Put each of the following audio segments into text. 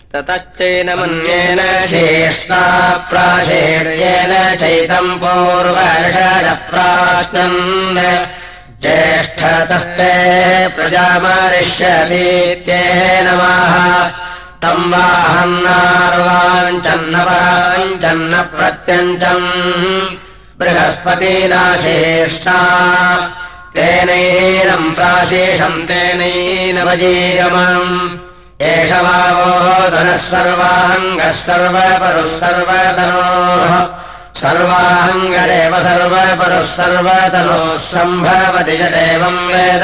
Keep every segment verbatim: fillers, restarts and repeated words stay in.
ततश्चैनमन्येन शेष्णा प्राशेर्येन चैतम् पूर्वर्षरप्राश्नन् ज्येष्ठतस्ते प्रजामरिष्यतीत्येन नमः तम् वाहन्नार्वाञ्चन्नपराञ्चन्न प्रत्यञ्चम् बृहस्पतिना शेष्णा तेनैनम् प्राशेषम् तेनैनवजीगमम् एष वावोदनः सर्वाङ्गः सर्वपरुः सर्वतनोः सर्वाङ्गरेव सर्वपरुः सर्वतनोः सम्भवति च देवम् वेद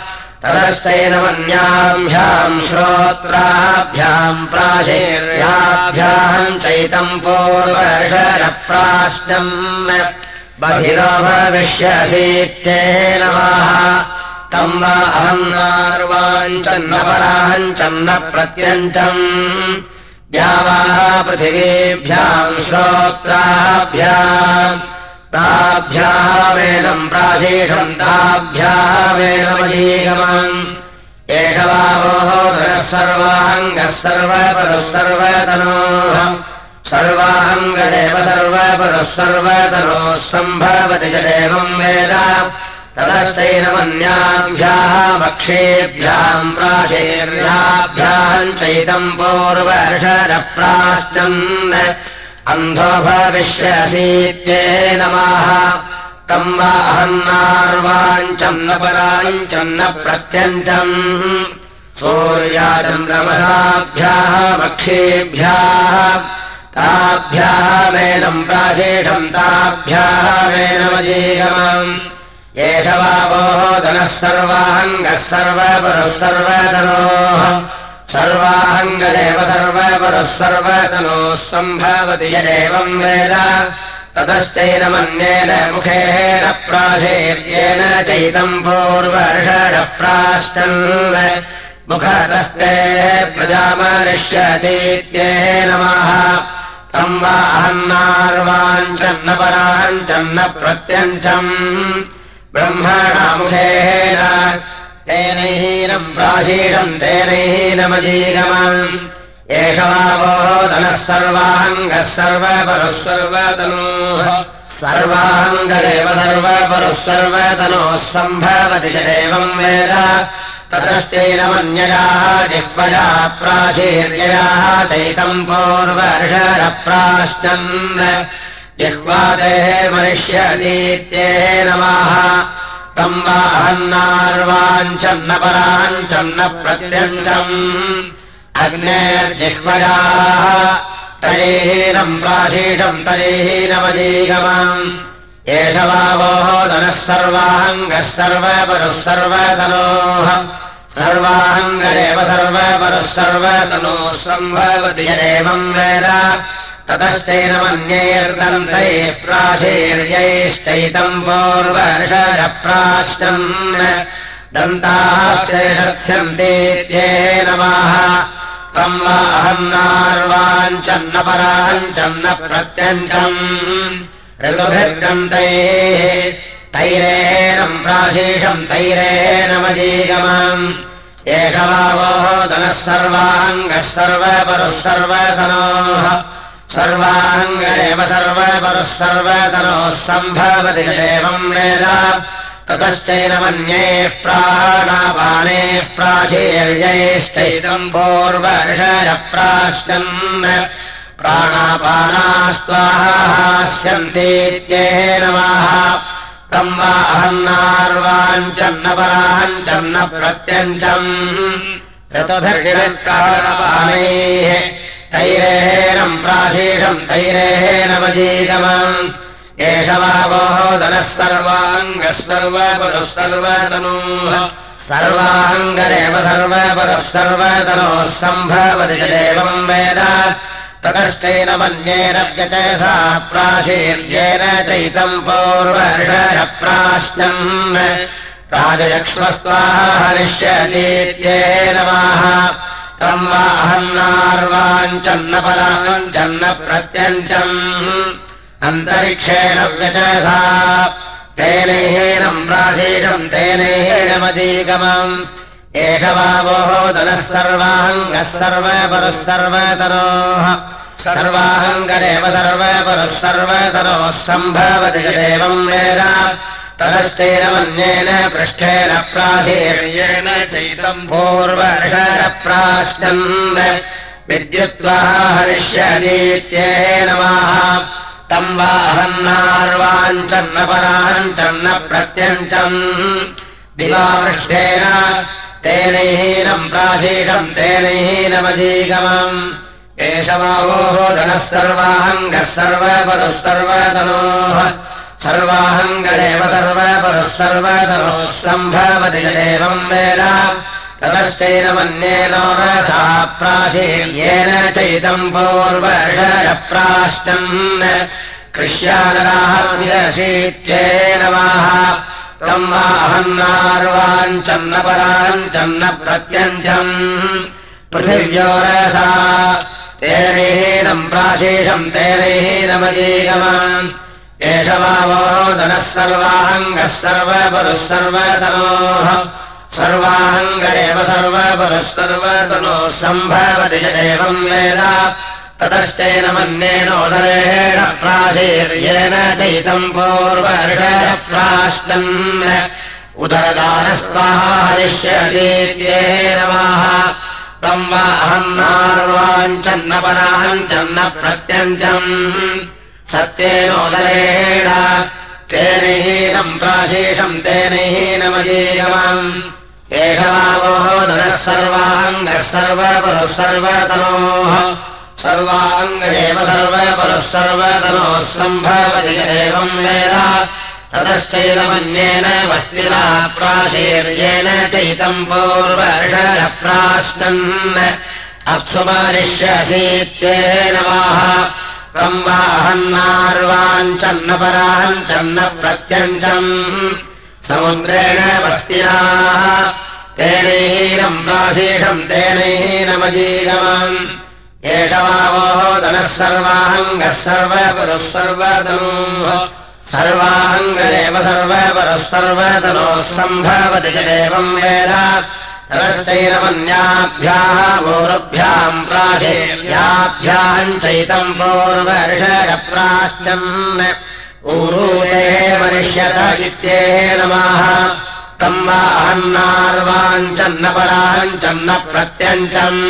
ततश्चैनमन्याभ्याम् श्रोत्राभ्याम् प्राशेर्याभ्याम् चैतम् पूर्वर्षरप्राश्नम् बधिरो भविष्यसीत्येन नमः तम् वा अहन्नार्वाञ्चन्नपराञ्चन्न प्रत्यञ्चम् द्यावाः पृथिवीभ्याम् श्रोत्राभ्याम् ताभ्यामेनम् प्राशेषम् ताभ्यामेनमजीगमम् एष वावोदनः सर्वाङ्गः सर्वपरुः सर्वतनोः सर्वाङ्गदेव सर्वपरुः सर्वतनोः सम्भवति च देवम् वेद ततश्चैनमन्याभ्याः वक्षेभ्याम् प्राशेर्याभ्याम् चैतम् पूर्वर्षरप्राश्नन् अन्धो भविष्यसीत्येन नमः तम् वा अहन्नार्वाञ्चन्न पराञ्चन्न प्रत्यञ्चम् सूर्याचन्द्रमसाभ्याः वक्षेभ्याः ताभ्यामेनम् प्राशेषम् ताभ्यामेनमजीगमम् एष वावोदनः सर्वाङ्गः सर्वपरुः सर्वतनोः सर्वाङ्गदेव सर्वपरुः सर्वतनोः सम्भवति च देवम् वेद ततश्चैनमन्येन मुखेन प्राशेर्येण चैतम् पूर्वर्षरप्राश्नन् मुखतस्ते प्रजामरिष्यतीत्येन नमः तम् वा अहन्नार्वाञ्चन्न पराञ्चन्न प्रत्यञ्चम् ब्रह्मणा मुखेन तेनैनम् प्राशेषम् तेनैनमजीगमम् एष वावोदनः सर्वाङ्गः सर्वपरुः सर्वतनोः सर्वाङ्गदेव सर्वपरुः सर्वतनोः सम्भवति च देवम् वेद ततश्चैनमन्ययाः जिह्वया प्राशेर्ययाः चैतम् पूर्वर्षरप्राश्नन् जिह्वादेः मरिष्यतीत्येन नमः तम् वा अहन्नार्वाञ्चन्न पराञ्चन्न प्रत्यञ्चम् अग्नेर्जिह्वयाः तैहीनम् प्राशेषम् तैहीनमजीगमम् एष वावोदनः सर्वाङ्गः सर्वपरुः सर्वतनोः सर्वाङ्गदेव सर्वपरुः सर्वतनोः सम्भवति च देवम् वेद ततश्चैनमन्यैर्दन्तैः प्राशेर्यैश्चैतम् पूर्वर्षरप्राश्नन् दन्ताश्चैषत्स्यन्तीत्येन नमः तम् वा अहन्नार्वाञ्चन्न पराञ्चन्न प्रत्यञ्चम् ऋतुभिर्दन्तैः तैरेणम् प्राशेषम् तैरेणमजीगमम् एष वावोदनः सर्वाङ्गः सर्वपरुः सर्वतनोः सर्वाङ्गदेव सर्वपरुः सर्वतनोः सम्भवति च देवम् वेद ततश्चैनमन्यैः प्राणापानेः प्राशेर्यैश्चैतम् पूर्वर्षरप्राश्नन् प्राणापानास्त्वाहास्यन्तीत्येन नमः तम् वा अहन्नार्वाञ्चन्न पराञ्चन्न प्रत्यञ्चम् ऋतुभिर्हिणत्कारणपानैः तैरेणम् प्राशेषम् तैरेणमजीगमम् एष वावोदनः सर्वाङ्गः सर्वपरुः सर्वतनोः सर्वाङ्गदेव सर्वपरुः सर्वतनोः सम्भवति च देवम् वेद ततश्चैनमन्येन व्यचसा प्राशेर्येण चैतम् पूर्वर्षरप्राश्नन् राजयक्ष्मस्त्वाहनिष्यतीत्येन नमः तम् वा अहन्नार्वाञ्चन्न पराञ्चन्न प्रत्यञ्चम् अन्तरिक्षेण व्यचसा तेनैनम् प्राशेषम् तेनैनमजीगमम् एष वावोदनः सर्वाङ्गः सर्वपरः सर्वतरोः सर्वाङ्गदेव सर्वपरः सर्वतरोः सम्भवति देवम् वेद ततश्चैनमन्येन पृष्ठेन प्राचीर्येण चैतम् पूर्वर्षरप्राश्नन् विद्युत्वः हरिष्यतीत्येन नमः तम् वाहन्नार्वाञ्चन्न पराञ्चन्न प्रत्यञ्चम् दिवापृष्ठेन तेनैहीनम् प्राचीषम् तेनैहीनमजीगमम् एष वावोदनः सर्वाङ्गः सर्वपरः सर्वतरोः सर्वाङ्गदेव सर्वपरः सर्वतरोः सम्भवति देवम् वेद ततश्चैनमन्येन रसा प्राचीर्येण चैतम् पूर्वर्षरप्राश्नन् कृष्यानराहस्यशीत्येन नमः तम् वाहन्नार्वाञ्चन्न पराञ्चन्न प्रत्यञ्चम् पृथिव्योरसा तेनैहीनम् प्राचीषम् तेनैहीनमजीगमम् एष वावोदनः सर्वाङ्गः सर्वपरः सर्वतरोः सर्वाङ्गदेव सर्वपरः सर्वतरोः सम्भवति देवम् वेद ततश्चैनमन्येनोदरेण प्राचीर्येण चैतम् पूर्वर्षरप्राश्नन् उदरदानस्त्वाहा हरिष्यतीत्येन नमः तम् वाहन्नार्वाञ्चन्न पराञ्चन्न प्रत्यञ्चम् सत्येनोदरेण तेनैहीनम् प्राचीषम् तेनैहीनमजीगमम् एष वावोदनः सर्वाङ्गः सर्वपरः सर्वतरोः सर्वाङ्गदेव सर्वपरः सर्वतरोः सम्भवति देवम् वेद ततश्चैनमन्येन वस्तिना प्राचीर्येण चैतम् पूर्वर्षरप्राश्नन् अप्सुमारिष्यसीत्येन नमः तम् वाहन्नार्वाञ्चन्न पराञ्चन्न प्रत्यञ्चम् समुद्रेण वस्तिना तेनैहीनम् प्राचीषम् तेनैहीनमजीगमम् एष वावोदनः सर्वाङ्गः सर्वपरः सर्वतरोः सर्वाङ्गदेव सर्वपरः सर्वतरोः सम्भवति देवम् वेद ततश्चैनमन्याभ्याः पूर्वभ्याम् प्राचीर्याभ्याम् चैतम् पूर्वर्षरप्राश्नन् ऊरूते मनिष्यत इत्येन नमः तम् वाहन्नार्वाञ्चन्न पराञ्चन्न प्रत्यञ्चम्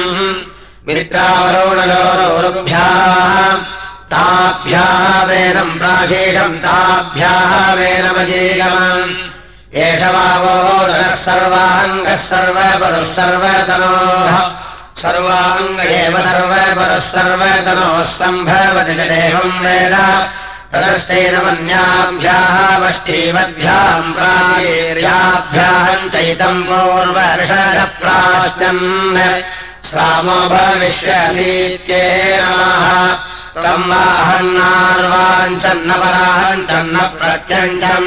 मित्रावरोणयोरुभ्याः ताभ्याः वेदम् प्राचीषम् ताभ्याः वेदमजीगमम् एष वावोदनः सर्वाङ्गः सर्वपरः सर्वतरोः सर्वाङ्गदेव सर्वपरः सर्वतरोः सम्भवति देवम् वेद ततश्चैनमन्याभ्याः वष्टीवद्भ्याम् प्राचीर्याभ्याम् चैतम् पूर्वर्षरप्राश्नन् श्रामो भविष्यसीत्येन नमः तम् वाहन्नार्वाञ्चन्न पराञ्चन्न प्रत्यञ्चम्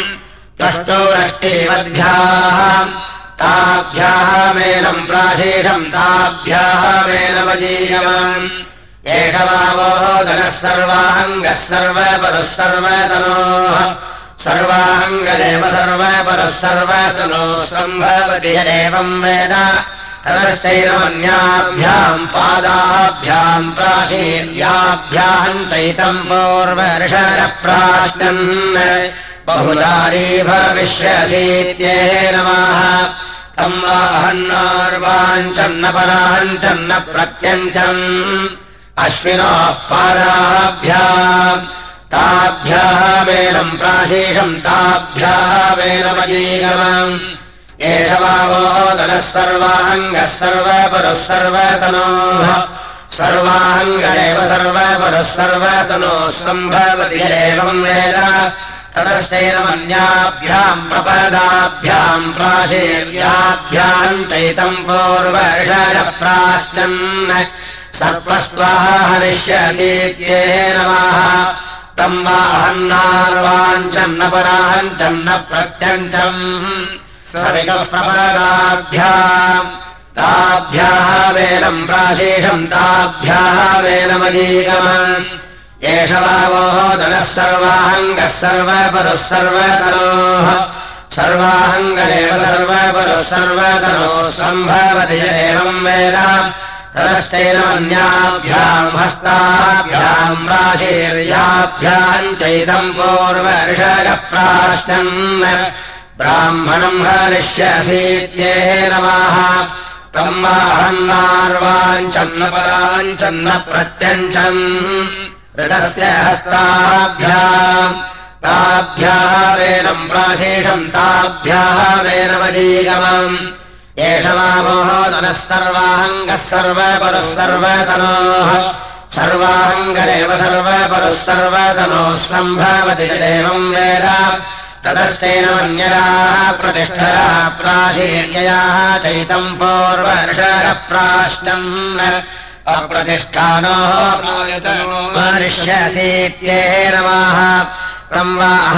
त्वष्टोरष्टीवद्भ्याः ताभ्याः मेलम् प्राचीषम् ताभ्याः मेलमजीगमम् एष वावोदनः सर्वाङ्गः सर्वपरः सर्वतरोः सर्वाङ्गदेव सर्वपरः सर्वतरोः सम्भवति देवम् वेद ततश्चैनमन्याभ्याम् पादाभ्याम् प्राचीर्याभ्याम् चैतम् पूर्वर्षरप्राश्नन् बहुलारी भविष्यसीत्येन नमः तम् वाहन्नार्वाञ्चन्न पराञ्चन्न प्रत्यञ्चम् अश्विनोः पादाभ्याम् ताभ्याः वेलम् प्राचीषम् ताभ्याः वेलमजीगमम् एष वावोदनः सर्वाङ्गः सर्वपरः सर्वतरोः सर्वाङ्गदेव सर्वपरः सर्वतरोः सम्भवति देवम् वेद ततश्चैनमन्याभ्याम् प्रपदाभ्याम् प्राचीर्याभ्याम् चैतम् पूर्वर्षरप्राश्नन् सर्पस्त्वाहा हरिष्यतीत्येन नमः तम् वाहन्नार्वाञ्चन्न पराञ्चन्न प्रत्यञ्चम् सविकः प्रपदाभ्याम् ताभ्याः वेलम् प्राचीषम् ताभ्याः वेलमजीगमम् एष वावोदनः सर्वाङ्गः सर्वपरः सर्वतरोः सर्वाङ्गलेव सर्वपरुः सर्वतनोः सम्भवति एवम् वेद ततश्चैनमन्याभ्याम् हस्ताभ्याम् राशीर्याभ्याम् चैतम् पूर्वऋषयप्राश्नन् ब्राह्मणम् हरिष्यसीत्येनमाह तम् वाहन्नार्वाञ्चन्नपराञ्चन्न प्रत्यञ्चन् ऋतस्य हस्ताभ्याम् ताभ्याः वेदम् प्राशेषम् ताभ्याः वेदमजीगमम् एष वामोहोदनः सर्वाङ्गः सर्वपरुः सर्वतनोः सर्वाङ्गरेव सर्वपरुः सर्वतनोः सम्भवति एवम् वेद ततश्चैनमन्यराः प्रतिष्ठया प्राशीर्ययाः चैतम् पूर्वर्षरप्राश्नन् अप्रतिष्ठानोः मनुष्यसीत्येनमाह तम्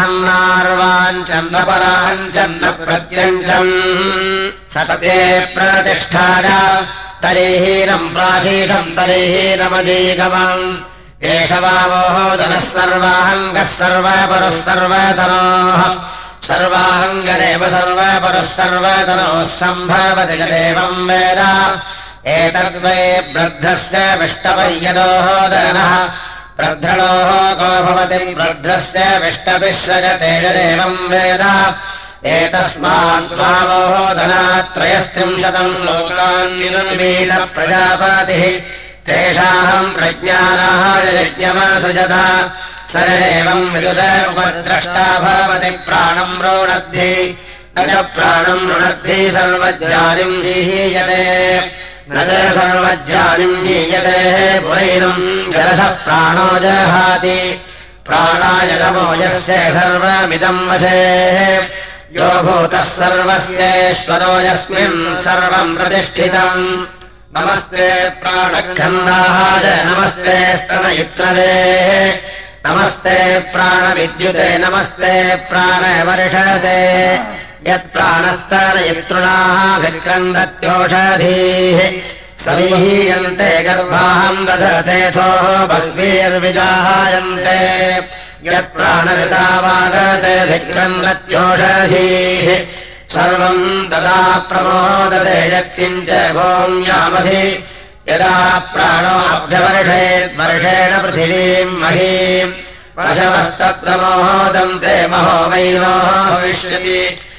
वाहन्नार्वाञ्चन्नपराञ्चन्न प्रत्यञ्चम् सते प्रतिष्ठाय तलेहीनम् प्राचीनम् तलेहीनमजीगमम् एष वामोहोदनः सर्वाङ्गः सर्वपरुः सर्वतनोः सर्वाङ्गरेव सर्वपरुः सर्वतनोः सम्भवति एवम् वेद एतद्वै वृद्धस्य विष्टपर्यदोहोदनः प्रध्रणोः को भवति वृद्धस्य विष्टपिः सजते यदेवम् वेद एतस्मात् वामोहोदनात्रयस्त्रिंशतम् लोकान् निरमीत प्रजापतिः तेषाम् प्रज्ञानाय यज्ञमसृजत स एवम् विदुर उपद्रष्टा भवति प्राणम् रोणद्धि न च प्राणम् रुणद्धि सर्वज्ञानिम् जीहीयते न च सर्वज्ञानिम् जीयते पुरैनम् जलसः प्राणो जहाति प्राणाय नमो यस्य सर्वमिदम् वशे यो भूतः सर्वस्येश्वरो यस्मिन् सर्वम् प्रतिष्ठितम् नमस्ते प्राणखण्डाय नमस्ते स्तनयित्रवे नमस्ते प्राणविद्युते नमस्ते प्राणवर्षते यत्प्राणस्तनयितृणाभिक्रन्दत्योषधीः समीहीयन्ते गर्भाम् दधतेथोः बह्वीर्विजायन्ते यत्प्राणऋतावागते भिक्रन्दत्योषधीः सर्वम् तदा प्रमोदते यत्किञ्च भूम्यामधि यदा प्राणो अभ्यवर्षेत् वर्षेण पृथिवीम् महीम् पशवस्तत्र मोहोदन्ते महो वैनोः भविष्यति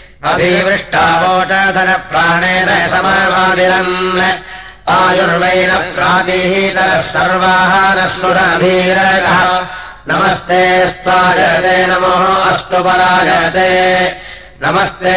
अभिवृष्टावोषधनप्राणेन समवादिरन् आयुर्वैन प्रातिहीतरः सर्वाहारः सुरभीरगः नमस्ते स्वाजते नमो अस्तु पराजते नमस्ते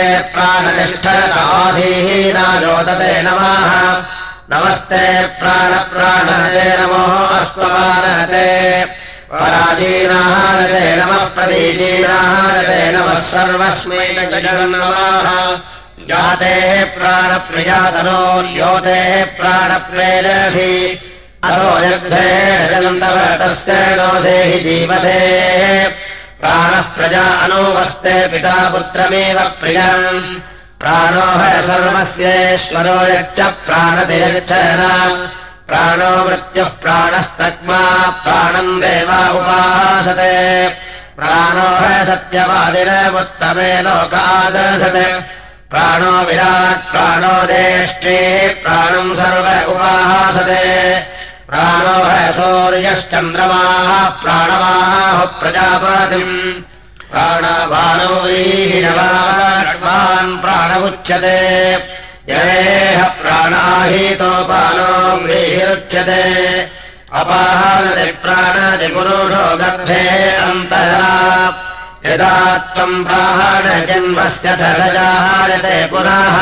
प्राणनिष्ठराधीहीनाजोदते नमः नमस्ते प्राणप्राणते नमो अस्तु पारते पराजीनाहारते नमः प्रतीजीनाहारते नमः सर्वस्मै जगन्नमः जाते प्राणप्रियातनो योते प्राणप्रेरसि अतो यद्धेन जगन्तव तस्य नोधेहि जीवते प्राणः प्रजा अनुवस्ते पिता पुत्रमेव प्रियम् प्राणो ह सर्वस्येश्वरो यच्च प्राणतिर्यच्छन प्राणो मृत्युः प्राणस्तक्मा प्राणम् देवा उपासते प्राणो ह सत्यवादिनमुत्तमे लोकादर्शते प्राणो विराट् प्राणो देष्टेः प्राणम् सर्व उपासते प्राणो ह सूर्यश्चन्द्रमाः प्राणमाः प्रजापतिम् प्राणवानो व्रीहिणवान् प्राणमुच्यते यवेह प्राणाहीतोपानो व्रीहिरुच्यते अपाहनति प्राणति पुरुषो गर्भे अन्तरा यदा त्वम् प्राणजन्मस्य च सजायते पुनः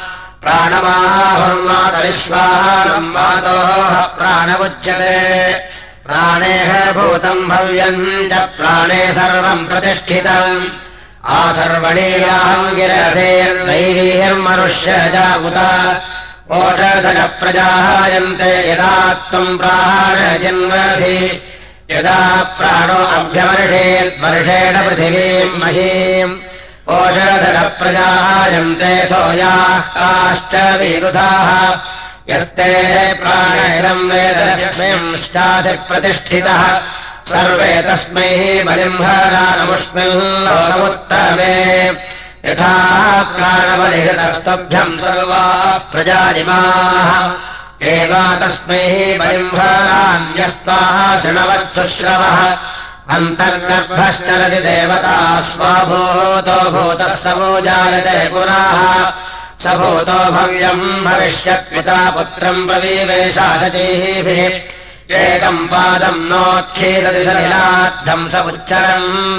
प्राणमाहुर्मातरिश्वाहारम् मातोः प्राणमुच्यते प्राणेह भूतम् भव्यम् च प्राणे सर्वम् प्रतिष्ठितम् आसर्वणीयाहम् गिरधेर्दैवीर्मनुष्यजागुत ओषधज प्रजायन्ते यदा त्वम् प्राणजन्मसि यदा प्राणो अभ्यवर्षेद्वर्षेण पृथिवीम् महीम् ओषधज प्रजायन्ते सोयाः काश्च विरुधाः यस्ते प्राणैरम् वेदस्मिंश्चासि प्रतिष्ठितः सर्वे तस्मै बलिम्भरानमुष्मिन् लोकमुत्तमे यथा प्राणबलिहृतस्तभ्यम् सर्वाः प्रजानिमाः एवा तस्मै बलिम्भरान्यस्ताः शृणवत्सुश्रवः अन्तर्गर्भश्चरति देवता स्वाभूतो भूतः सवो जायते पुराः स भूतो भव्यम् भविष्यत्पिता पुत्रम् प्रवीवेशाशचीभिः एकम् पादम् नोत्खीदति सलिलाद्धम् स उच्चरन्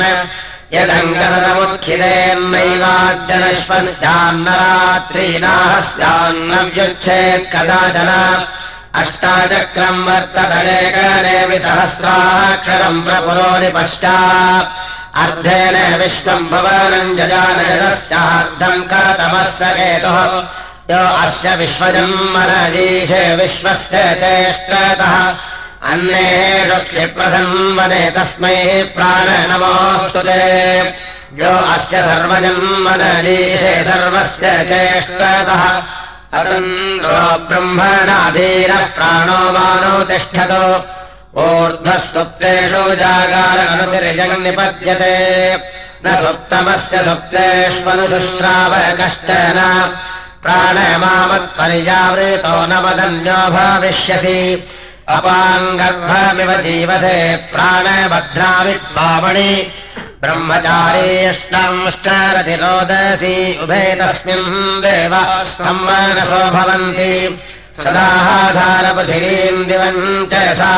यदङ्गसमुत्खिदेन्नैवाद्यनश्वस्यान्नरात्रीनाहस्यान्नव्युच्छेत् कदाचन अष्टाचक्रम् वर्ततरेकनेमि सहस्राक्षरम् प्रपुरोनि पश्चात् अर्धेन विश्वम् भवनम् जजानजदस्यार्धम् करतमः स केतुः यो अस्य विश्वजन्मनजीशे विश्वस्य चेष्टतः अन्येषु क्षिप्रसन्वने तस्मै प्राण नमोऽस्तु ते यो अस्य सर्वजन्मनजीशे सर्वस्य चेष्टतः अतन्द्रो ब्रह्मणाधीरः प्राणो मानो तिष्ठतो ऊर्ध्वः सुप्तेषु जागार अनुतिर्जन्निपद्यते न सुप्तमस्य सुप्तेष्वनुशुश्राव कश्चन प्राणमामत्पर्यावृतो न वदन्यो भविष्यसि अपाङ्गर्भमिव जीवसे प्राणभद्राविद्वामणि ब्रह्मचारी यष्टांश्चरति रोदसी उभे तस्मिन् देवाः सम्मानसो भवन्ति सदाधारपृथिवीम् दिवम् च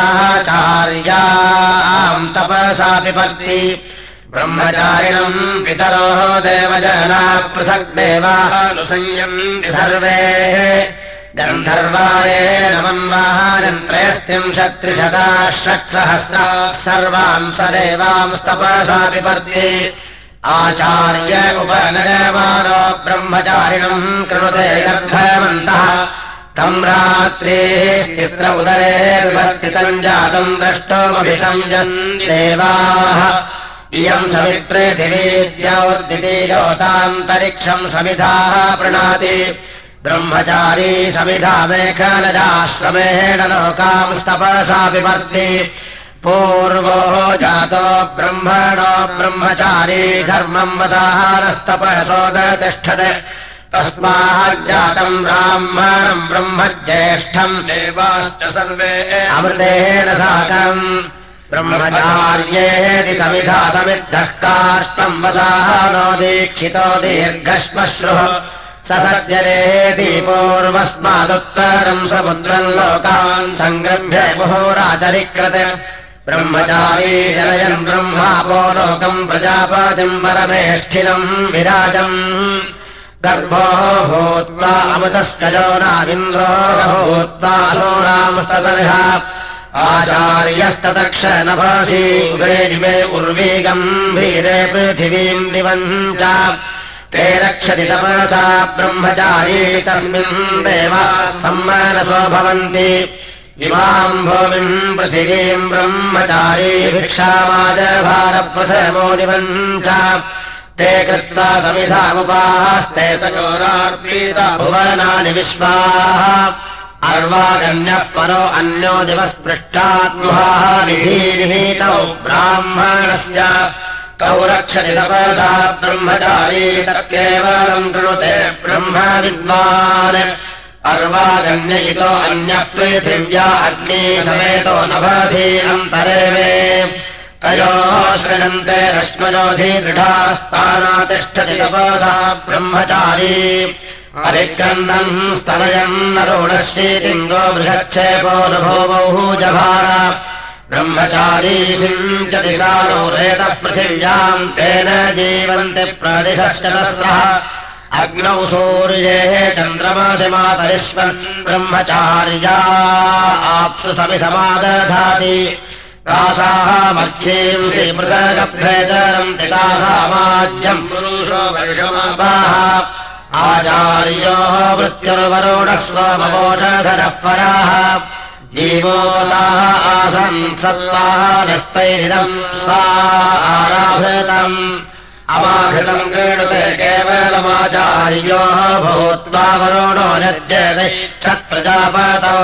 साचार्याम् तपसा पिबन्ति ब्रह्मचारिणम् पितरोः देवजनाः पृथक् देवानुसंयन्ति सर्वे गन्धर्वारेण मन्वाहारन्त्रयस्त्रिंशत्त्रिशताः षट्सहस्राः सर्वान् स देवांस्तपसा पिबन्ति आचार्य उपनयमानो ब्रह्मचारिणम् कृणुते गर्भमन्तः तम् रात्रेः तिस्र उदरे विवर्तितम् जातम् द्रष्टुमभितम् देवाः इयम् सवित्पृथिवीद्योर्दिति ज्योतान्तरिक्षम् समिधाः प्रणीति ब्रह्मचारी समिधा मेखलजाश्रमेण लोकांस्तपसा पिबन्ति पूर्वो जातो ब्रह्मणो ब्रह्मचारी धर्मम् वसाहारस्तपसोदतिष्ठते तस्माज्जातम् ब्राह्मणम् ब्रह्मज्येष्ठम् देवाश्च सर्वे अमृतेन साकम् ब्रह्मचार्येति समिधा समिद्धः कार्ष्णम् वसाहानो दीक्षितो दीर्घश्मश्रुः स सज्जनेति पूर्वस्मादुत्तरम् समुद्रम् लोकान् सङ्गृह्य मुहुराचरिकृत ब्रह्मचारी जनयन् ब्रह्मापो लोकम् प्रजापतिम् परमेष्ठिनम् विराजम् गर्भो भूत्वा अमृतस्कजो नाविन्द्रो भूत्वा सोरांस्ततर्ह आचार्यस्ततक्ष नभासी उभे जिवे उर्वी गम्भीरे पृथिवीम् दिवम् च ते रक्षति तपसा ब्रह्मचारी तस्मिन् देवाः सम्मानसो भवन्ति इमाम् भूमिम् पृथिवीम् ब्रह्मचारी भिक्षामाजभारप्रथमो दिवम् च ते कृत्वा समिधामुपास्ते तयोरार्पीता भुवनानि विश्वाः अर्वागण्यः परो अन्यो दिवस्पृष्टात्मुहाः निधीनिहीतौ ब्राह्मणस्य कौ रक्षति तपसा ब्रह्मचारी तत्केवलम् कृणुते ब्रह्मविद्वान् अर्वागण्य इतो अन्यः पृथिव्या अग्नि समेतो नभसि अन्तरे मे तयोः सृजन्ते रश्मयोधि दृढास्तानातिष्ठति तपसा ब्रह्मचारी अभिक्रन्दन् स्तनयन्नरोणशीतिङ्गो बृहच्छेपोऽनुभूवौ जभार ब्रह्मचारी सिञ्चति सारोरेतः पृथिव्याम् तेन जीवन्ति प्रदिशश्चतस्रः अग्नौ सूर्ये चन्द्रमासि मातरिष्वन् ब्रह्मचार्या आप्सु समिधमादधाति तासाः मच्छीम् श्रीपृथगभ्रेतरम् तितासामाज्यम् पुरुषो वर्षमापाः आचार्योः वृत्तिर्वरुणः सोमवोषधरः पराः जीवोलाः आसन् सत्त्वाः नस्तैरिदम् स्वा आराभृतम् अमाहृतम् क्रीडुते केवलमाचार्योः भूत्वा वरुणो यद्यतिष्ठत्प्रजापतौ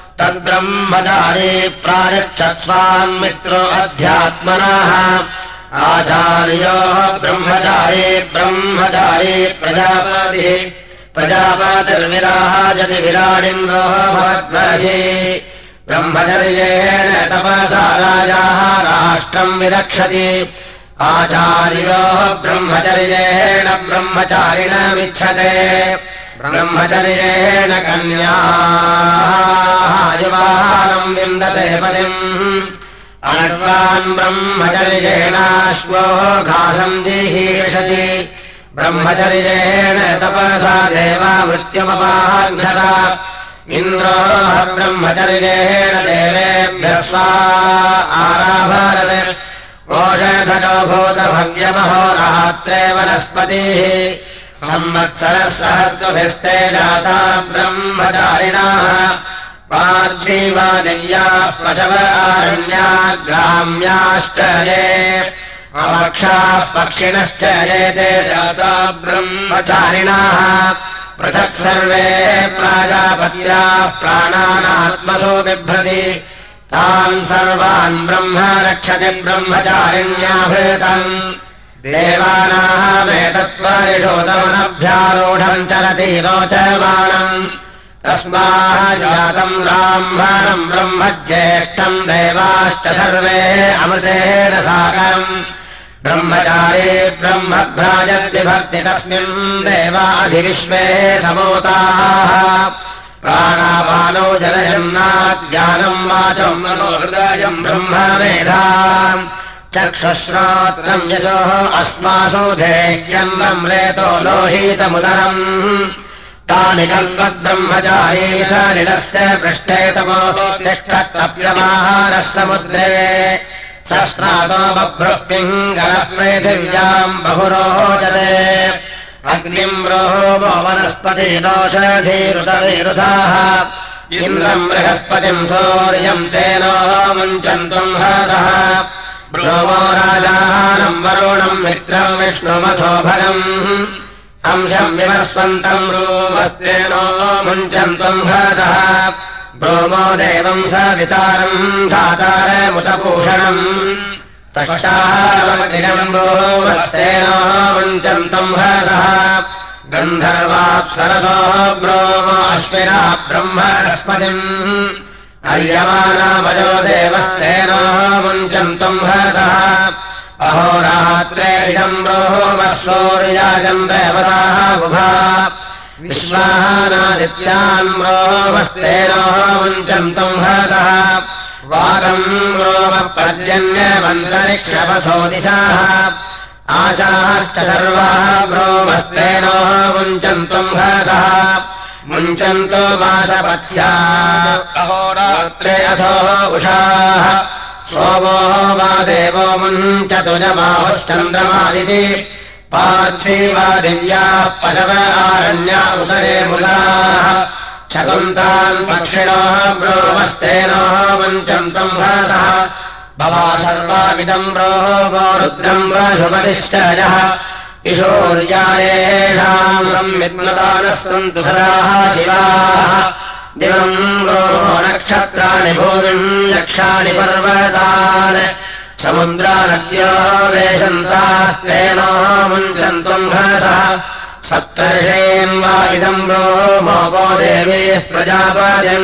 तद्ब्रह्मचारी प्रायच्छत्स्वान् मित्रो अध्यात्मनः आचार्योः ब्रह्मचारी ब्रह्मचारी प्रजापतिः प्रजापतिर्विराजति विराडिन्द्रो भवद्वर्षि ब्रह्मचर्येण तपसा राजाः राष्ट्रम् विरक्षति आचार्योः ब्रह्मचर्येण ब्रह्मचारिणमिच्छते ब्रह्मचर्येण कन्याः युवानम् विन्दते पतिम् अनर्वान् ब्रह्मचर्येणाश्वो घासम् जिहीर्षति ब्रह्मचर्येण तपसा देवा मृत्युमपाघ्नत इन्द्रो ब्रह्मचर्येण देवेभ्यः स्वा आराभरत् ओषधजो भूतभव्यमहोरात्रे वनस्पतिः संवत्सरः सहर्तुभिस्ते जाता ब्रह्मचारिणाः पार्थिवा दिव्याः पशव आरण्या ग्राम्याश्च ये अमक्षाः पक्षिणश्च ये ते जाता ब्रह्मचारिणाः पृथक् सर्वे प्राजापत्याः प्राणानात्मसो बिभ्रति तान् सर्वान् ब्रह्म रक्षति ब्रह्मचारिण्याभृतम् देवानामेतत्परिशोधमनभ्यारूढम् चलति रोचमानम् तस्माज्जातम् ब्राह्मणम् ब्रह्म ज्येष्ठम् देवाश्च सर्वे अमृतेन साकम् ब्रह्मचारी ब्रह्मभ्राजद्विभक्ति तस्मिन् देवाधिविश्वे समूताः प्राणापानो जनयन्नाज्ञानम् वाचम् मनोहृदयम् ब्रह्मवेदाम् चक्षुश्रोत्रम् यशोः अस्मासु धेयन्नम् रेतो लोहितमुदरम् तानि कल्पद्ब्रह्मचारी सलिलस्य पृष्ठे तपोतिष्ठत्तप्यमाहारः समुद्रे सस्नातो बभ्रुः पिङ्गलः पृथिव्याम् बहुरोचते अग्निम् रोहो वनस्पतिरोषधीरुतविरुधाः इन्द्रम् बृहस्पतिम् सूर्यम् तेनो मुञ्चन्तुम् हरः ब्रोमो राजानम् वरुणम् मित्रम् विष्णुमथो भगम् अंशम् विवस्वन्तम् रूमस्तेनो मुञ्चन्तुम् हरः ब्रोमो देवम् सवितारम् धातारमुतभूषणम् तक्षारमग्निरम् ब्रोमस्तेनो मुञ्चन्तुम् हरः गन्धर्वाप्सरसो ब्रोमो अश्विना ब्रह्मणस्पतिम् अर्यमानामजो देवस्तेनो मुञ्चन्तुम् हरः अहोरात्रे इदम् ब्रोमः सूर्याजम् देवताः बुभा विश्वानादित्यान् ब्रोमस्तेनो मुञ्चन्तुम् हरः वागम् ब्रोमः पर्जन्यमन्तरिक्षपथो दिशाः आशाश्च सर्वाः ब्रोमस्तेनो मुञ्चन्तुम् हरः मुञ्चन्तो वासपथ्या अहोरात्रे अथो उषाः सोमो वा देवो मुञ्चतु जमाहुश्चन्द्रमादिति पार्थिवा दिव्याः पशव आरण्या उदरे मुदाः शकुन्तान् पक्षिणोः ब्रोमस्तेनो मुञ्चन्तुम् हरः भवा सर्वाविदम् ब्रोमो रुद्रम् वशुपतिश्च यः किशोर्यायेषाम् संविद्मतानः सन्तु सदाः शिवाः दिवम् ब्रोमो नक्षत्राणि भूमिम् यक्षाणि पर्वतान् समुद्रानद्यो वेशन्तास्तेनो मुञ्चन्तुम् हरः सप्तर्षेन् वा इदम् ब्रोमो देवीः प्रजापतिम्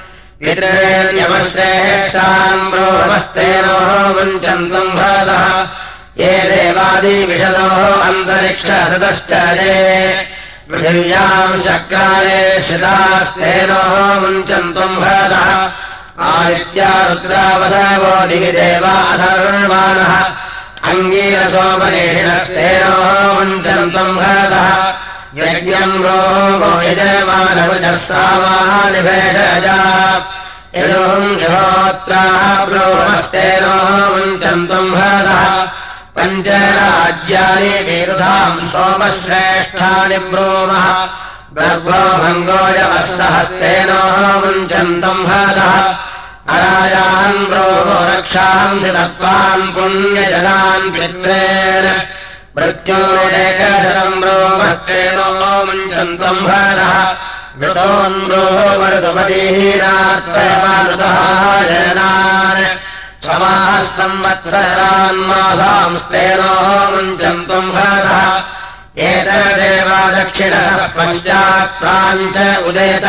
पितृण्यमश्रेष्ठान् ब्रोमस्तेनो मुञ्चन्तुम् हरः ये देवादिविशदोः अन्तरिक्षसदश्च ये पृथिव्याम् शक्राले श्रितास्तेनो मुञ्चन्तुम् हरः आदित्या रुद्रावसवो दिवि देवा सर्वाणः अङ्गीरसोपनिषिणस्तेनो मुञ्चन्तुम् हरः यज्ञम् ब्रोमो यजमानवृजः सामानि भेषजा यजोहम् यहोत्राः ब्रोमस्तेनो मुञ्चन्तुम् हरः पञ्चराज्यानि विरुधाम् सोमश्रेष्ठानि ब्रूमः गर्भो भङ्गोजवः सहस्तेनो मुञ्चन्तुम् हरः अरायान् ब्रोमो रक्षांसि तत्त्वान् पुण्यजनान् पित्रेण मृत्योरेकशतम् ब्रोमस्तेनो मुञ्चन्तुम् हरः मृतोन् ब्रोमऋतुपतिहीनार्थमानृतः जनान् समाः संवत्सरान्मासांस्तेनो मुञ्चन्तुम् भरतः एतदेव दक्षिणतः पश्चात् प्राञ्च उदेत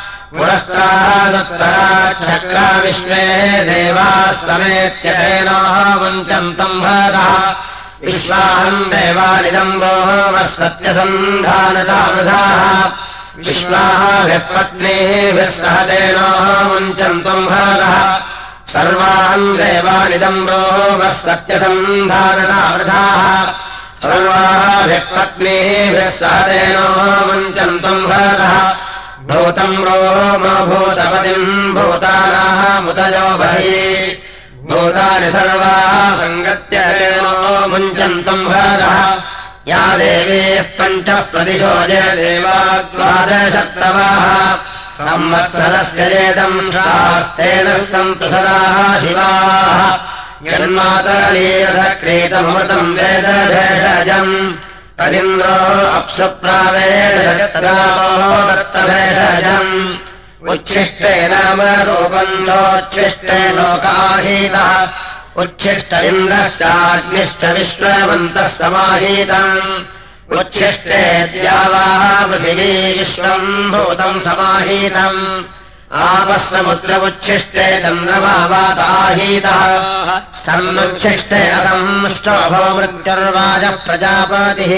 पुरस्तादुत्तराच्छक्रा विश्वे देवास्तमेत्यतेनो मुञ्चन्तम् भरतः विश्वाहम् देवानिदम् रोमः सत्यसन्धानतावृधाः विश्वाहाभिः पत्नीभिः सह तेनो मुञ्चन्तुम् भरतः सर्वान् देवानिदम् रोमः सत्यसन्धानतावृधाः सर्वाभिः पत्नीभिः सह तेनो मुञ्चन्तुम् भरतः भूतम् रोम भूतपतिम् भूतानामुदयो बहिः भूतानि सर्वाः सङ्गत्य तेनो मुञ्चन्तुम् भरतः या देवीः पञ्च प्रतिशो जयदेवा द्वादशत्तवाः संवत्सरस्य चेदम् शास्तेन सन्तु सदाः शिवाः यन्मातलीरथक्रीतमृतम् वेदभेषजम् तदिन्द्रो अप्सुप्रावेशतदातो दत्तभेषजम् उच्छिष्टे नाम रूपञ्चोच्छिष्टे लोकाहीतः उच्छिष्ट इन्द्रश्चाग्निश्च विश्ववन्तः समाहीतम् उच्छिष्टे द्यावाः पृथिवी विश्वम् भूतम् समाहीतम् आपः समुद्रमुच्छिष्टे चन्द्रमा वाताहीतः सन्नुच्छिष्टे अधम् ष्टोभो मृत्युर्वाजः प्रजापतिः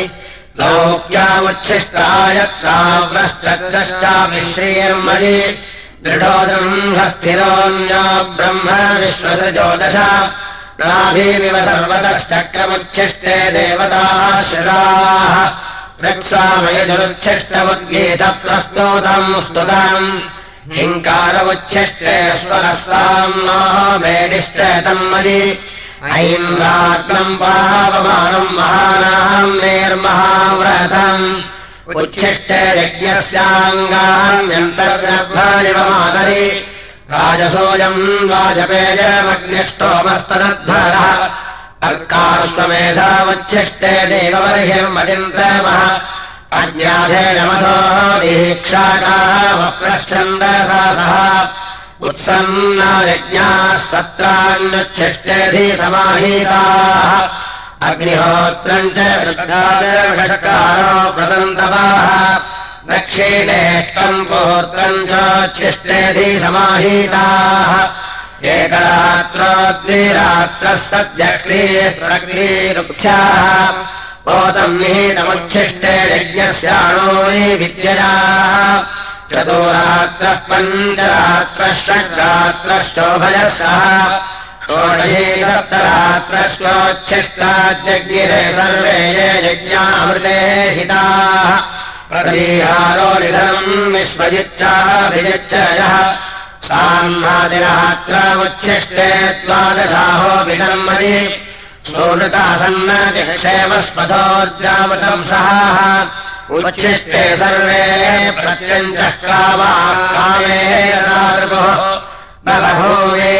लौक्यामुच्छिष्टायत्ताव्रश्चक्रश्चाभिश्रीर्मयि दृढो दृम्भस्थिरोऽन्यो ब्रह्म विश्वसृजोदश नाभिमिव सर्वतश्चक्रमुच्छिष्टे देवताः शिराः रक्षामयजुरुच्छिष्टमुद्गीतप्रस्तोतम् स्तुतम् हिङ्कारमुच्छिष्टे स्वरस्ताम्नो मेनिष्टेतम् मयि ऐन्द्राग्नम् पावमानम् महानाम् निर्महाव्रतम् उच्छिष्टे यज्ञस्याङ्गान्यन्तर्गर्भाणि मातरि राजसोऽयम् वाजपेयमग्निष्टोमस्तदध्वरः अर्काश्वमेधामुच्छिष्टे देववर्हिर्मदिन्द्रमः अज्ञाधेयमथो दीक्षाकामप्रच्छन्दसा सह उत्सन्ना यज्ञाः सत्राण्युच्छिष्टेधि समाहीताः अग्निहोत्रम् च षट्कारो प्रदन्तवाः दक्षिणेष्टम् पोत्रम् चोच्छिष्टेधि समाहीताः एकरात्रो द्विरात्रः सद्यक्रीः प्रक्रीरुक्षाः पोतम् निहितमुच्छिष्टे यज्ञस्याणोरि विद्यया चतुरात्रः पञ्चरात्रः षड्रात्रश्चोभयः सह षोडशी सप्तरात्रश्चोच्छिष्टाज्जज्ञिरे सर्वे ये यज्ञामृते हिताः प्रतीहारो निधनम् विश्वजिच्चाभिजिच्चयः साह्नादिरात्रामुच्छिष्टे द्वादशाहो विधर्मदि सोनृतासन्नतिक्षेमस्पथोर्जामृतम् सहाः उच्छिष्टे सर्वे प्रत्यञ्चः कामाः कामेरनादृपुः बभूवे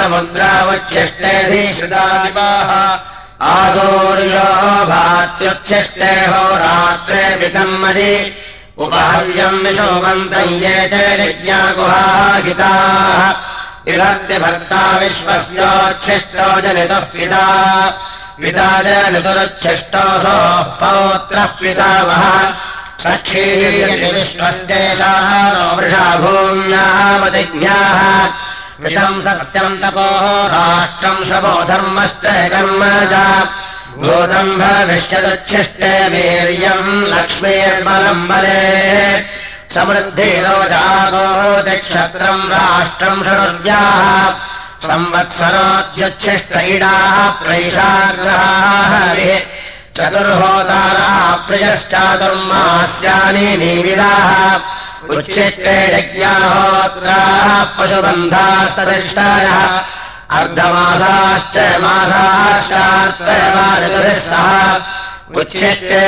समुद्रावच्छिष्टेऽधिश्रुतादिपाः आसूर्यो भात्युच्छिष्टे होरात्रे वितन्मदि उपहव्यम् विशोभन्तम् ये च यज्ञागुहाहिताः विभक्ति भर्ता विश्वस्योच्छिष्टो जनितः पिता पिता जनितुरुच्छिष्टोऽसोः पौत्रः पितामहः सखीः विश्वस्येषाः नो वृषा भूम्यामतिज्ञाः मितम् सत्यम् तपोः राष्ट्रम् शवो धर्मश्च कर्म च भूतम् भविष्यदुच्छिष्टे वीर्यम् लक्ष्मीर्बलम् बले समृद्धिरोजागो दिक्षत्रम् राष्ट्रम् षडुर्व्याः संवत्सरोद्युच्छिष्ट इडाः प्रैषाग्रहाः हरिः चतुर्होताराः प्रियश्चातुर्मास्यानि निविदाः उच्छिष्टे यज्ञाहोत्राः पशुबन्धास्तदिष्टायः अर्धमासाश्च मासाश्चार्त्रयवादिभिः सह उच्छिष्टे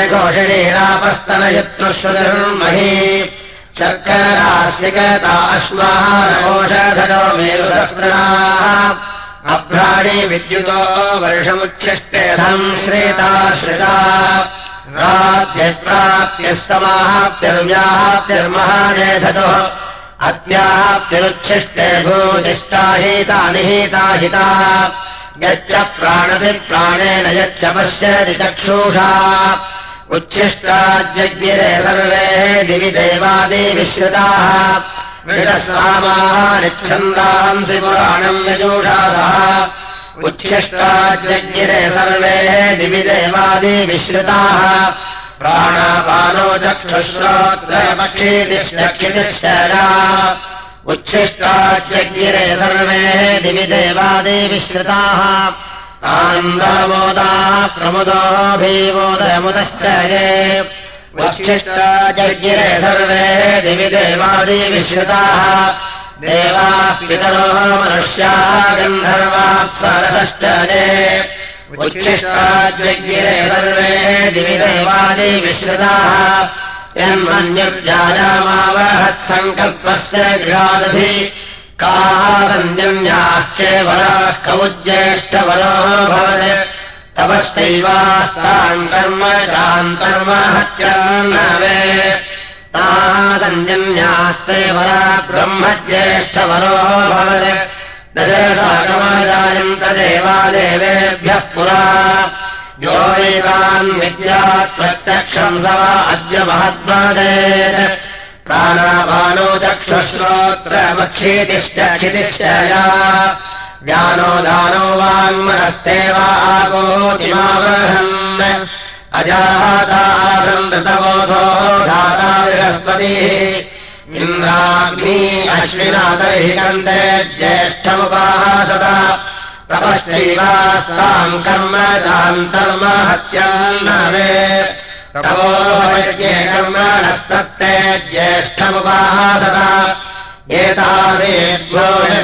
घोषिणीरापस्तनयत्नुश्रुतिर्मही शर्करास्यकता अश्माहारकोषधयो मेरुदस्तृणाः अभ्राणि विद्युतो वर्षमुच्छिष्टे संश्रिताश्रिता राध्यप्राप्त्यस्तमाप्तिर्व्याप्तिर्महानेधतुः अत्याप्तिरुच्छिष्टे भूतिष्ठाहिता निहिता हिता यच्च प्राणति प्राणेन यच्च पश्यति चक्षुषा उच्छिष्टाज्ञिरे सर्वे दिवि देवादिविश्रिताः विषसामानिच्छन्दांसि पुराणम् यजूषासः उच्छिष्टाज्ञिरे सर्वे दिवि देवादिविश्रिताः प्राणापानो चक्षुश्रोत्रपक्षीतिश्चक्षितिश्चरा उच्छिष्टाज्ञिरे सर्वे दिवि देवादिविश्रिताः आनन्दमोदाः प्रमुदो भीमोदयमुदश्च ये उच्छिष्टाज्ञिरे सर्वे दिवि देवादिविश्रिताः देवाः पितरो मनुष्याः गन्धर्वाप्सरसश्च ये उच्छिष्टाज्ञिरे सर्वे दिवि देवादिविश्रिताः यन्मन्युर्जायामावहत्सङ्कल्पस्य गृहादधि कासञ्जन्याः केवलाः कवुज्येष्ठवरो भवत् तपश्चैवास्ताम् कर्म चान्तर्म हत्यान्नवे तासञ्जन्यास्ते वरा ब्रह्मज्येष्ठवरो भवत् दशसाकमाजायन्त देवादेवेभ्यः पुरा यो वेदान् विद्यात् प्रत्यक्षम् स वा अद्य महद्वदेत् प्राणापानो चक्षुश्रोत्रमक्षीतिश्च क्षितिश्च या व्यानो दानो वाङ्मनस्ते वा आगोतिमावहन् अजातासम् ऋतबोधो धाता बृहस्पतिः इन्द्राग्नी अश्विना तर्हि कन्ते ज्येष्ठमुपासत तपश्चैवास्ताम् कर्म चान्तर्म हत्यान्नवे तपोयज्ञे कर्मणस्तत्ते ज्येष्ठमुपासत एतासेद्वो यः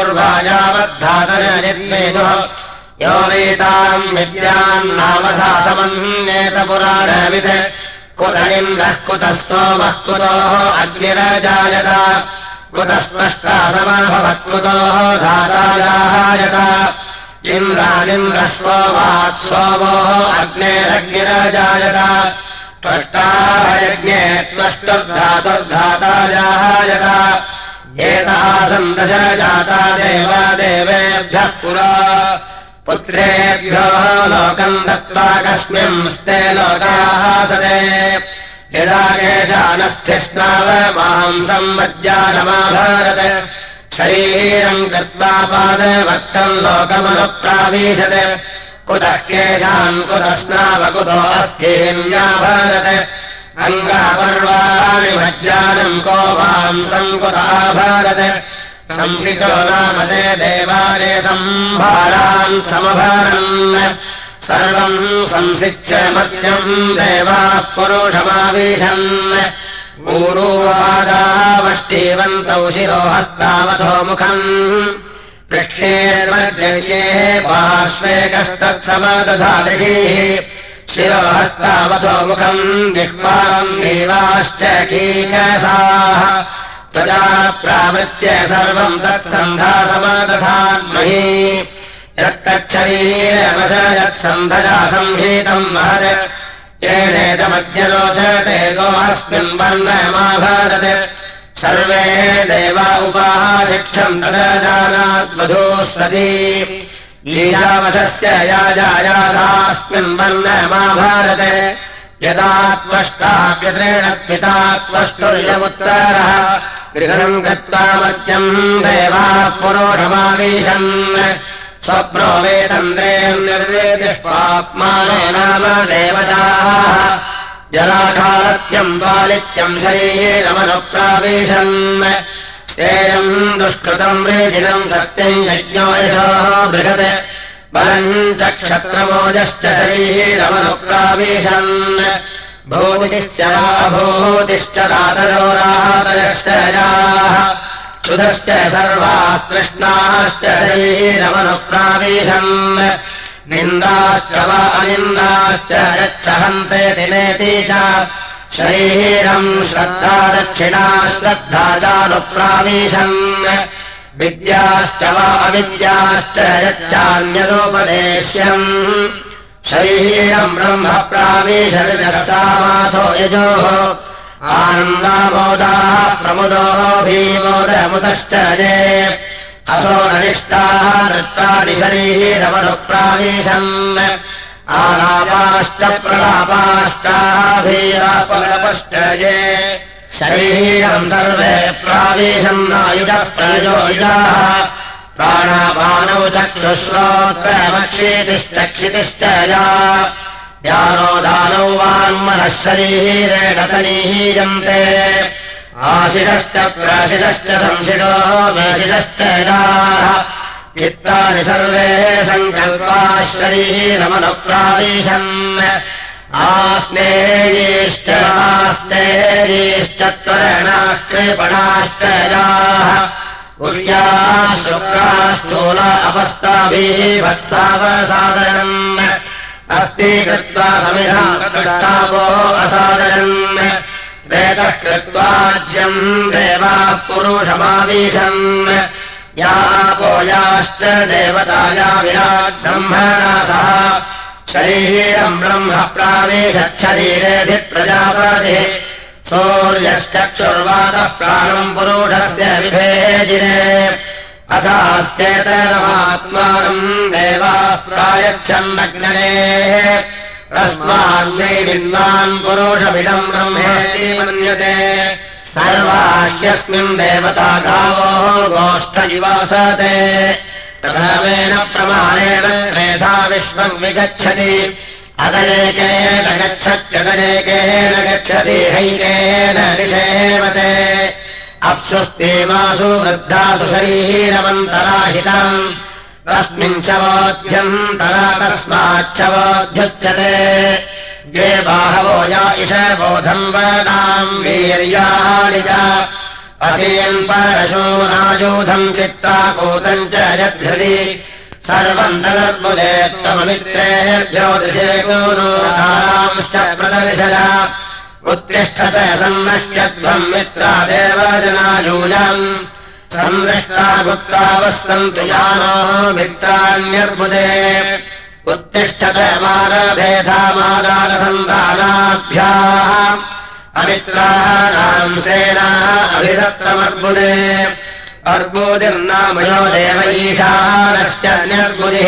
पूर्वायावद्धातरयद्वेदुः यो वेताम् विद्यान्नामधा समन्येत पुराणवित् कुत इन्द्रः कुतः सोमः कुतोः अग्निरजायत कुतः स्पष्टा समभवत् कुतोः धाताजायत इन्द्रालिन्द्रः सोमात् सोमोः अग्नेरग्निरजायत त्वष्टायज्ञे त्वष्टुर्धातुर्धाताजायत एतासम् दश जाता देवादेवेभ्यः पुरा पुत्रेभ्यो लोकम् दत्त्वा कस्मिंस्ते लोकाः सदे यदा केशानस्थिस्नाव मांसम् मज्जानमाभरत् शरीरम् कृत्वा पादवक्तम् लोकमनुप्रावीशत् कुतः केशान् कुतः स्नाव कुतो अस्थिन्याभरत् अङ्गापर्वाणि मज्जानम् को मांसम् कुताभरत् संसितो नाम ते देवालये सम्भारान् समभरन् सर्वम् संसिच्य मध्यम् देवाः पुरुषमावीशन् ऊरूवादावष्टीवन्तौ शिरो हस्तावधो मुखम् पृष्ठेर्मध्ये पार्श्वे कस्तत्समदधादृढीः शिरो हस्तावधो मुखम् जिह्वाम् देवाश्च कीकसाः त्वजा प्रावृत्य सर्वम् तत्सन्धासमदधान्महि यत्तच्छरीरवशयत्सन्धजा संहीतम् महत् येनेदमद्यरोचते गोऽस्मिन् वर्णमाभरत् सर्वे देवा उपाशिक्षम् तदजानाद्वधूस्वती ईशावशस्य याजायासास्मिन् वर्णमाभरत् यदा त्वष्टाप्यत्रेण पिता त्वष्टुर्यमुत्तरः गृहम् गत्वा मध्यम् देवाः पुरोषमावीशन् स्वप्नो वेतन्द्रेर्निर्देतिष्पाप्मानो नाम देवताः जलाखालत्यम् पालित्यम् शरीरमनुप्रावीशन् स्तेयम् दुष्कृतम् रेजिनम् सत्यम् यज्ञो यशोः बृहत् बलम् च क्षत्रमोजश्च शरीरमनुप्रावीशन् भूतिश्च भूतिश्च रातरोरातरश्च याः क्षुधश्च सर्वास्तृष्णाश्च शरीरमनुप्रावीशन् निन्दाश्च वा अनिन्दाश्च यच्छहन्ते दिनेति च शरीरम् श्रद्धा दक्षिणा श्रद्धा चानुप्रावीशन् विद्याश्च वा अविद्याश्च यच्चान्यदुपदेश्यम् शरीरम् ब्रह्म प्रावीशरिजः सामाथो यजोः आनन्दामोदाः प्रमुदो भीमोदमुदश्च ये असो नरिष्टाः नृत्तादिशरीरमनुप्रावीशन् आलापाश्च प्रलापाश्चाभीरापलपश्च ये शरीरम् सर्वे प्रावीशन्नायुजः प्रयोयुजाः प्राणापानौ चक्षुश्रोत्रमक्षितिश्चक्षितिश्च या यानो दानौ वाङ्मनः शरीरेण तनीहीयन्ते आशिषश्च प्राशिषश्च संशिषो मेशिषश्च याः चित्तानि सर्वे सङ्कल्पाः शरीरमनुप्रावीशन् आस्नेयीश्च नास्नेयीश्च त्वरणाः कृपणाश्च याः उर्याः शुक्राः स्थूला अपस्ताभिः वत्सावसादयन् अस्ति कृत्वा समिधापो असादयन् वेदः कृत्वाज्यम् देवाः पुरुषमावीशन् यापो याश्च देवताया विराट् ब्रह्मणा सह शरीरम् ब्रह्म प्रावेशच्छरीरेऽधि प्रजापतिः सूर्यश्चक्षुर्वातः प्राणम् पुरुषस्य विभेजिने अथास्तेतरमात्मानम् देवाः प्रायच्छन्नग्नने तस्मान्नै विद्वान् पुरुषमिदम् ब्रह्मेति मन्यते सर्वाह्यस्मिन् देवता गावो गोष्ठ इवासते प्रथमेन प्रमाणेन मेधा विश्वम् विगच्छति अदयेकेन गच्छत्यदयेकेन गच्छति हैकेन निषेवते अप्सुस्तेमासु वृद्धासु शरीरमन्तराहितम् तस्मिन् च वोध्यन्तरा तस्माच्च वोध्युच्यते ये बाहवो या इषबोधम् वनाम् वीर्याणि च असीन् परशूनायूधम् चित्ताकूतम् च यद्धृति सर्वम् तदर्बुदे त्वममित्रेभ्यो दृशे गुरुधारांश्च प्रदर्शय उत्तिष्ठत सन्नश्यध्वम् मित्रादेव जनायूजम् संदृष्टा गुप्तावस्सन्तु यानो मित्राण्यर्बुदे उत्तिष्ठत मारभेधामादानसन्धानाभ्याम् अमित्राणाम् सेनाः अभिधत्तमर्बुदे अर्बुदिर्नामयो देव ईशानश्च न्यर्बुदिः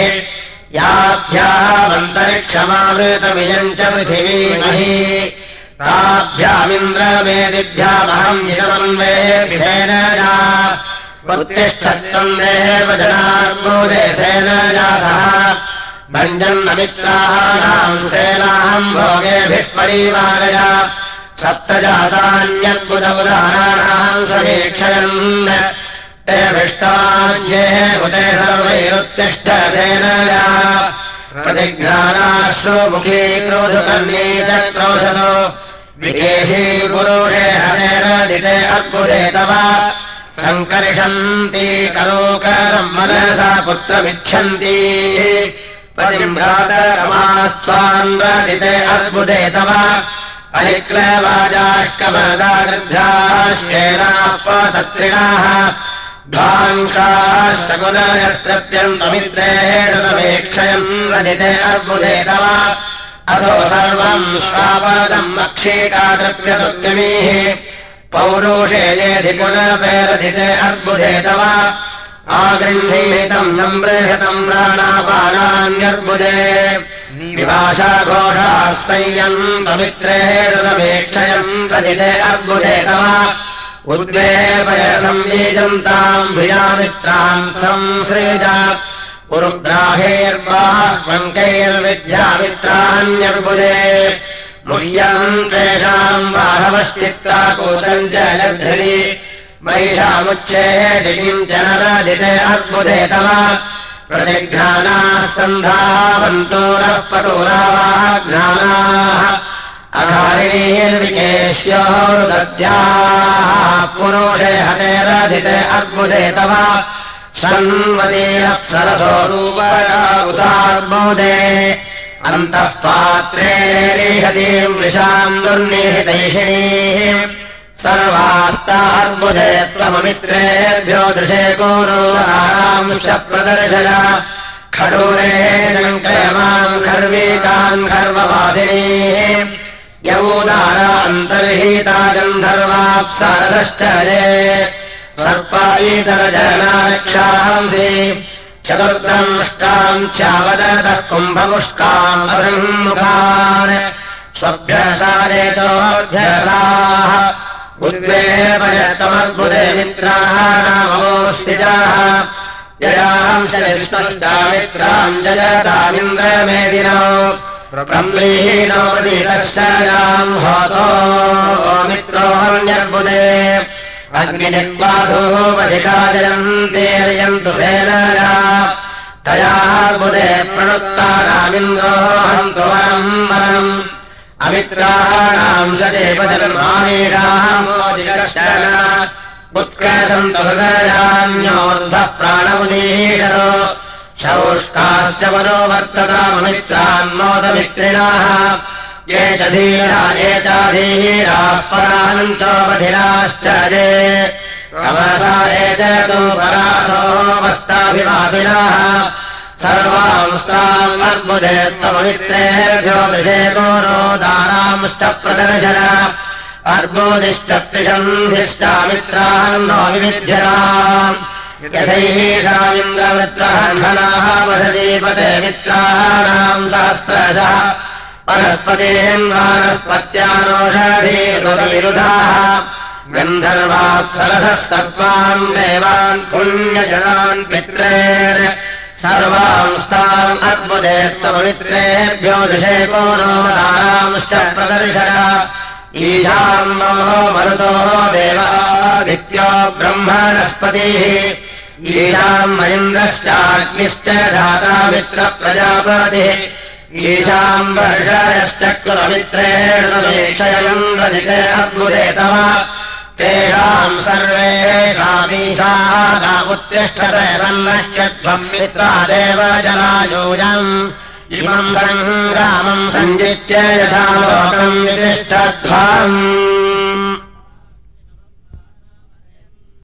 याभ्यामन्तरिक्षमावृतमियम् च पृथिवीमहि ताभ्यामिन्द्रमेदिभ्यामहम् जितमन्वेति सेनया उत्तिष्ठत्वम् देव जनार्बुदे सेनया सह भञ्जन्नमित्राणाम् सेनाहम् भोगेभिः परिवारय सप्तजातान्यद्बुधबुधाराणाम् समीक्षयन् तेभिष्टाज्ये उदे सर्वैरुत्तिष्ठ सेनया प्रतिघ्नानाश्रु मुखी क्रोधकर्णी च क्रोशतो विकेशी पुरुषे हरेरदिते अर्बुदे तव सङ्कर्षन्ति करोकरम् मनसा पुत्रमिच्छन्ति परिम्भ्रातरमास्त्वान्वदिते अर्बुदे तव अलिक्लवाजाष्कमदागृद्धाः शेनाः पतत्रिणाः ध्वांसाः शकुनयस्त्रप्यन्तमित्रेणुतमेक्षयम् रदिते अर्बुदे तव अथो सर्वम् स्वापदम् अक्षीकातृप्यतुद्यमीः पौरुषे येधि पुनपेरदिते अर्बुदे तव आगृह्णीतम् सम्बृहतम् प्राणापानान्यर्बुदे विभाषाघोषाः संयन्तमित्रेणुतमेक्षयम् रदिते अर्बुदे तव उद्वेपयसंयीजन्ताम् भियामित्राम् संसृज उरुग्राहेर्बाह्वङ्कैर्विद्यामित्रान्यर्बुदे मुह्यम् तेषाम् बाहवश्चित्ताकूतम् च जद्धरि महिषामुच्छेदिनीम् च नरदिते अर्बुदे तव प्रतिघ्नानाः सन्धावन्तोरः पटुरावाघ्नानाः अघारिणीर्विकेश्योरुदद्याः पुरुषे हतेरदिते अर्बुदे तव शन्वतीरप्सरसो रूपयावुतार्बुदे अन्तः पात्रे रिहतीम् वृषाम् दुर्निहितैषिणीः सर्वास्तार्बुदे त्वममित्रेभ्यो दृशे गुरुधारांश्च प्रदर्शय खडूरे शङ्कयमाम् खर्वीकान् खर्ववासिनीः यवोदारा अन्तर्हिता गन्धर्वाप्सरसश्च ये सर्पायीतरजनाक्षांसि चतुर्दंष्टाम् च्यावदतः कुम्भमुष्काम् अब्रह्मुखान् स्वभ्यसारेतोऽभ्यसाः उद्वेपयत्वमर्बुदे मित्राः नामोऽस्तिजाः जयांश विष्णुष्टामित्राम् जयतामिन्द्रमेदिनो ब्रह्मीनो प्रतिदर्शनाम् होतो मित्रोऽन्यर्बुदे अग्निनिर्बाधोपशिखा जयन्तेर्यन्तु सेनया तयार्बुदे प्रणुत्तानामिन्द्रो हन्तु वरम् वरम् अमित्राणाम् सदेवजन्मामीषामोदिकर्षण उत्कर्षन्तु हृदयान्योर्धः प्राणमुदीषतो शौष्काश्च मनो वर्तताममित्रान्मोदमित्रिणाः ये च धीरा ये चाधीराः परान्तोपधिराश्च ये अवसा ये च तु पराथोऽवस्ताभिवादिनः सर्वांस्तामर्बुदे त्वममित्रेभ्यो दृशे गोरोदारांश्च प्रदर्शन अर्बुदिश्च त्रिषन्धिश्चामित्रान्नो विविध्यताम् यथैषामिन्द्रवृत्रहन्धनाः वसदीपते मित्राणाम् सहस्रशः परस्पतिम् वानस्पत्यानोषधीरुधाः गन्धर्वाप्सरसः सर्वान् देवान् पुण्यजनान् पित्रेन् सर्वांस्ताम् अर्बुदे त्वममित्रेभ्यो दृशे गोरोदारांश्च प्रदर्शन ईशान्नो मरुतो देवादित्यो ब्रह्मणस्पतिः ईशाम् महेन्द्रश्चाग्निश्च धाता मित्रप्रजापतिः ईशाम् वर्षयश्चक्रमित्रेण समीक्षयन्द्रजिते अर्बुदे तव तेषाम् सर्वेषामीशानामुत्तिष्ठत सन्नह्यध्वम् मित्रा देव जनायूजम् इमम् सङ्ग्रामम् सञ्जित्य यथा लोकम् वितिष्ठध्वम्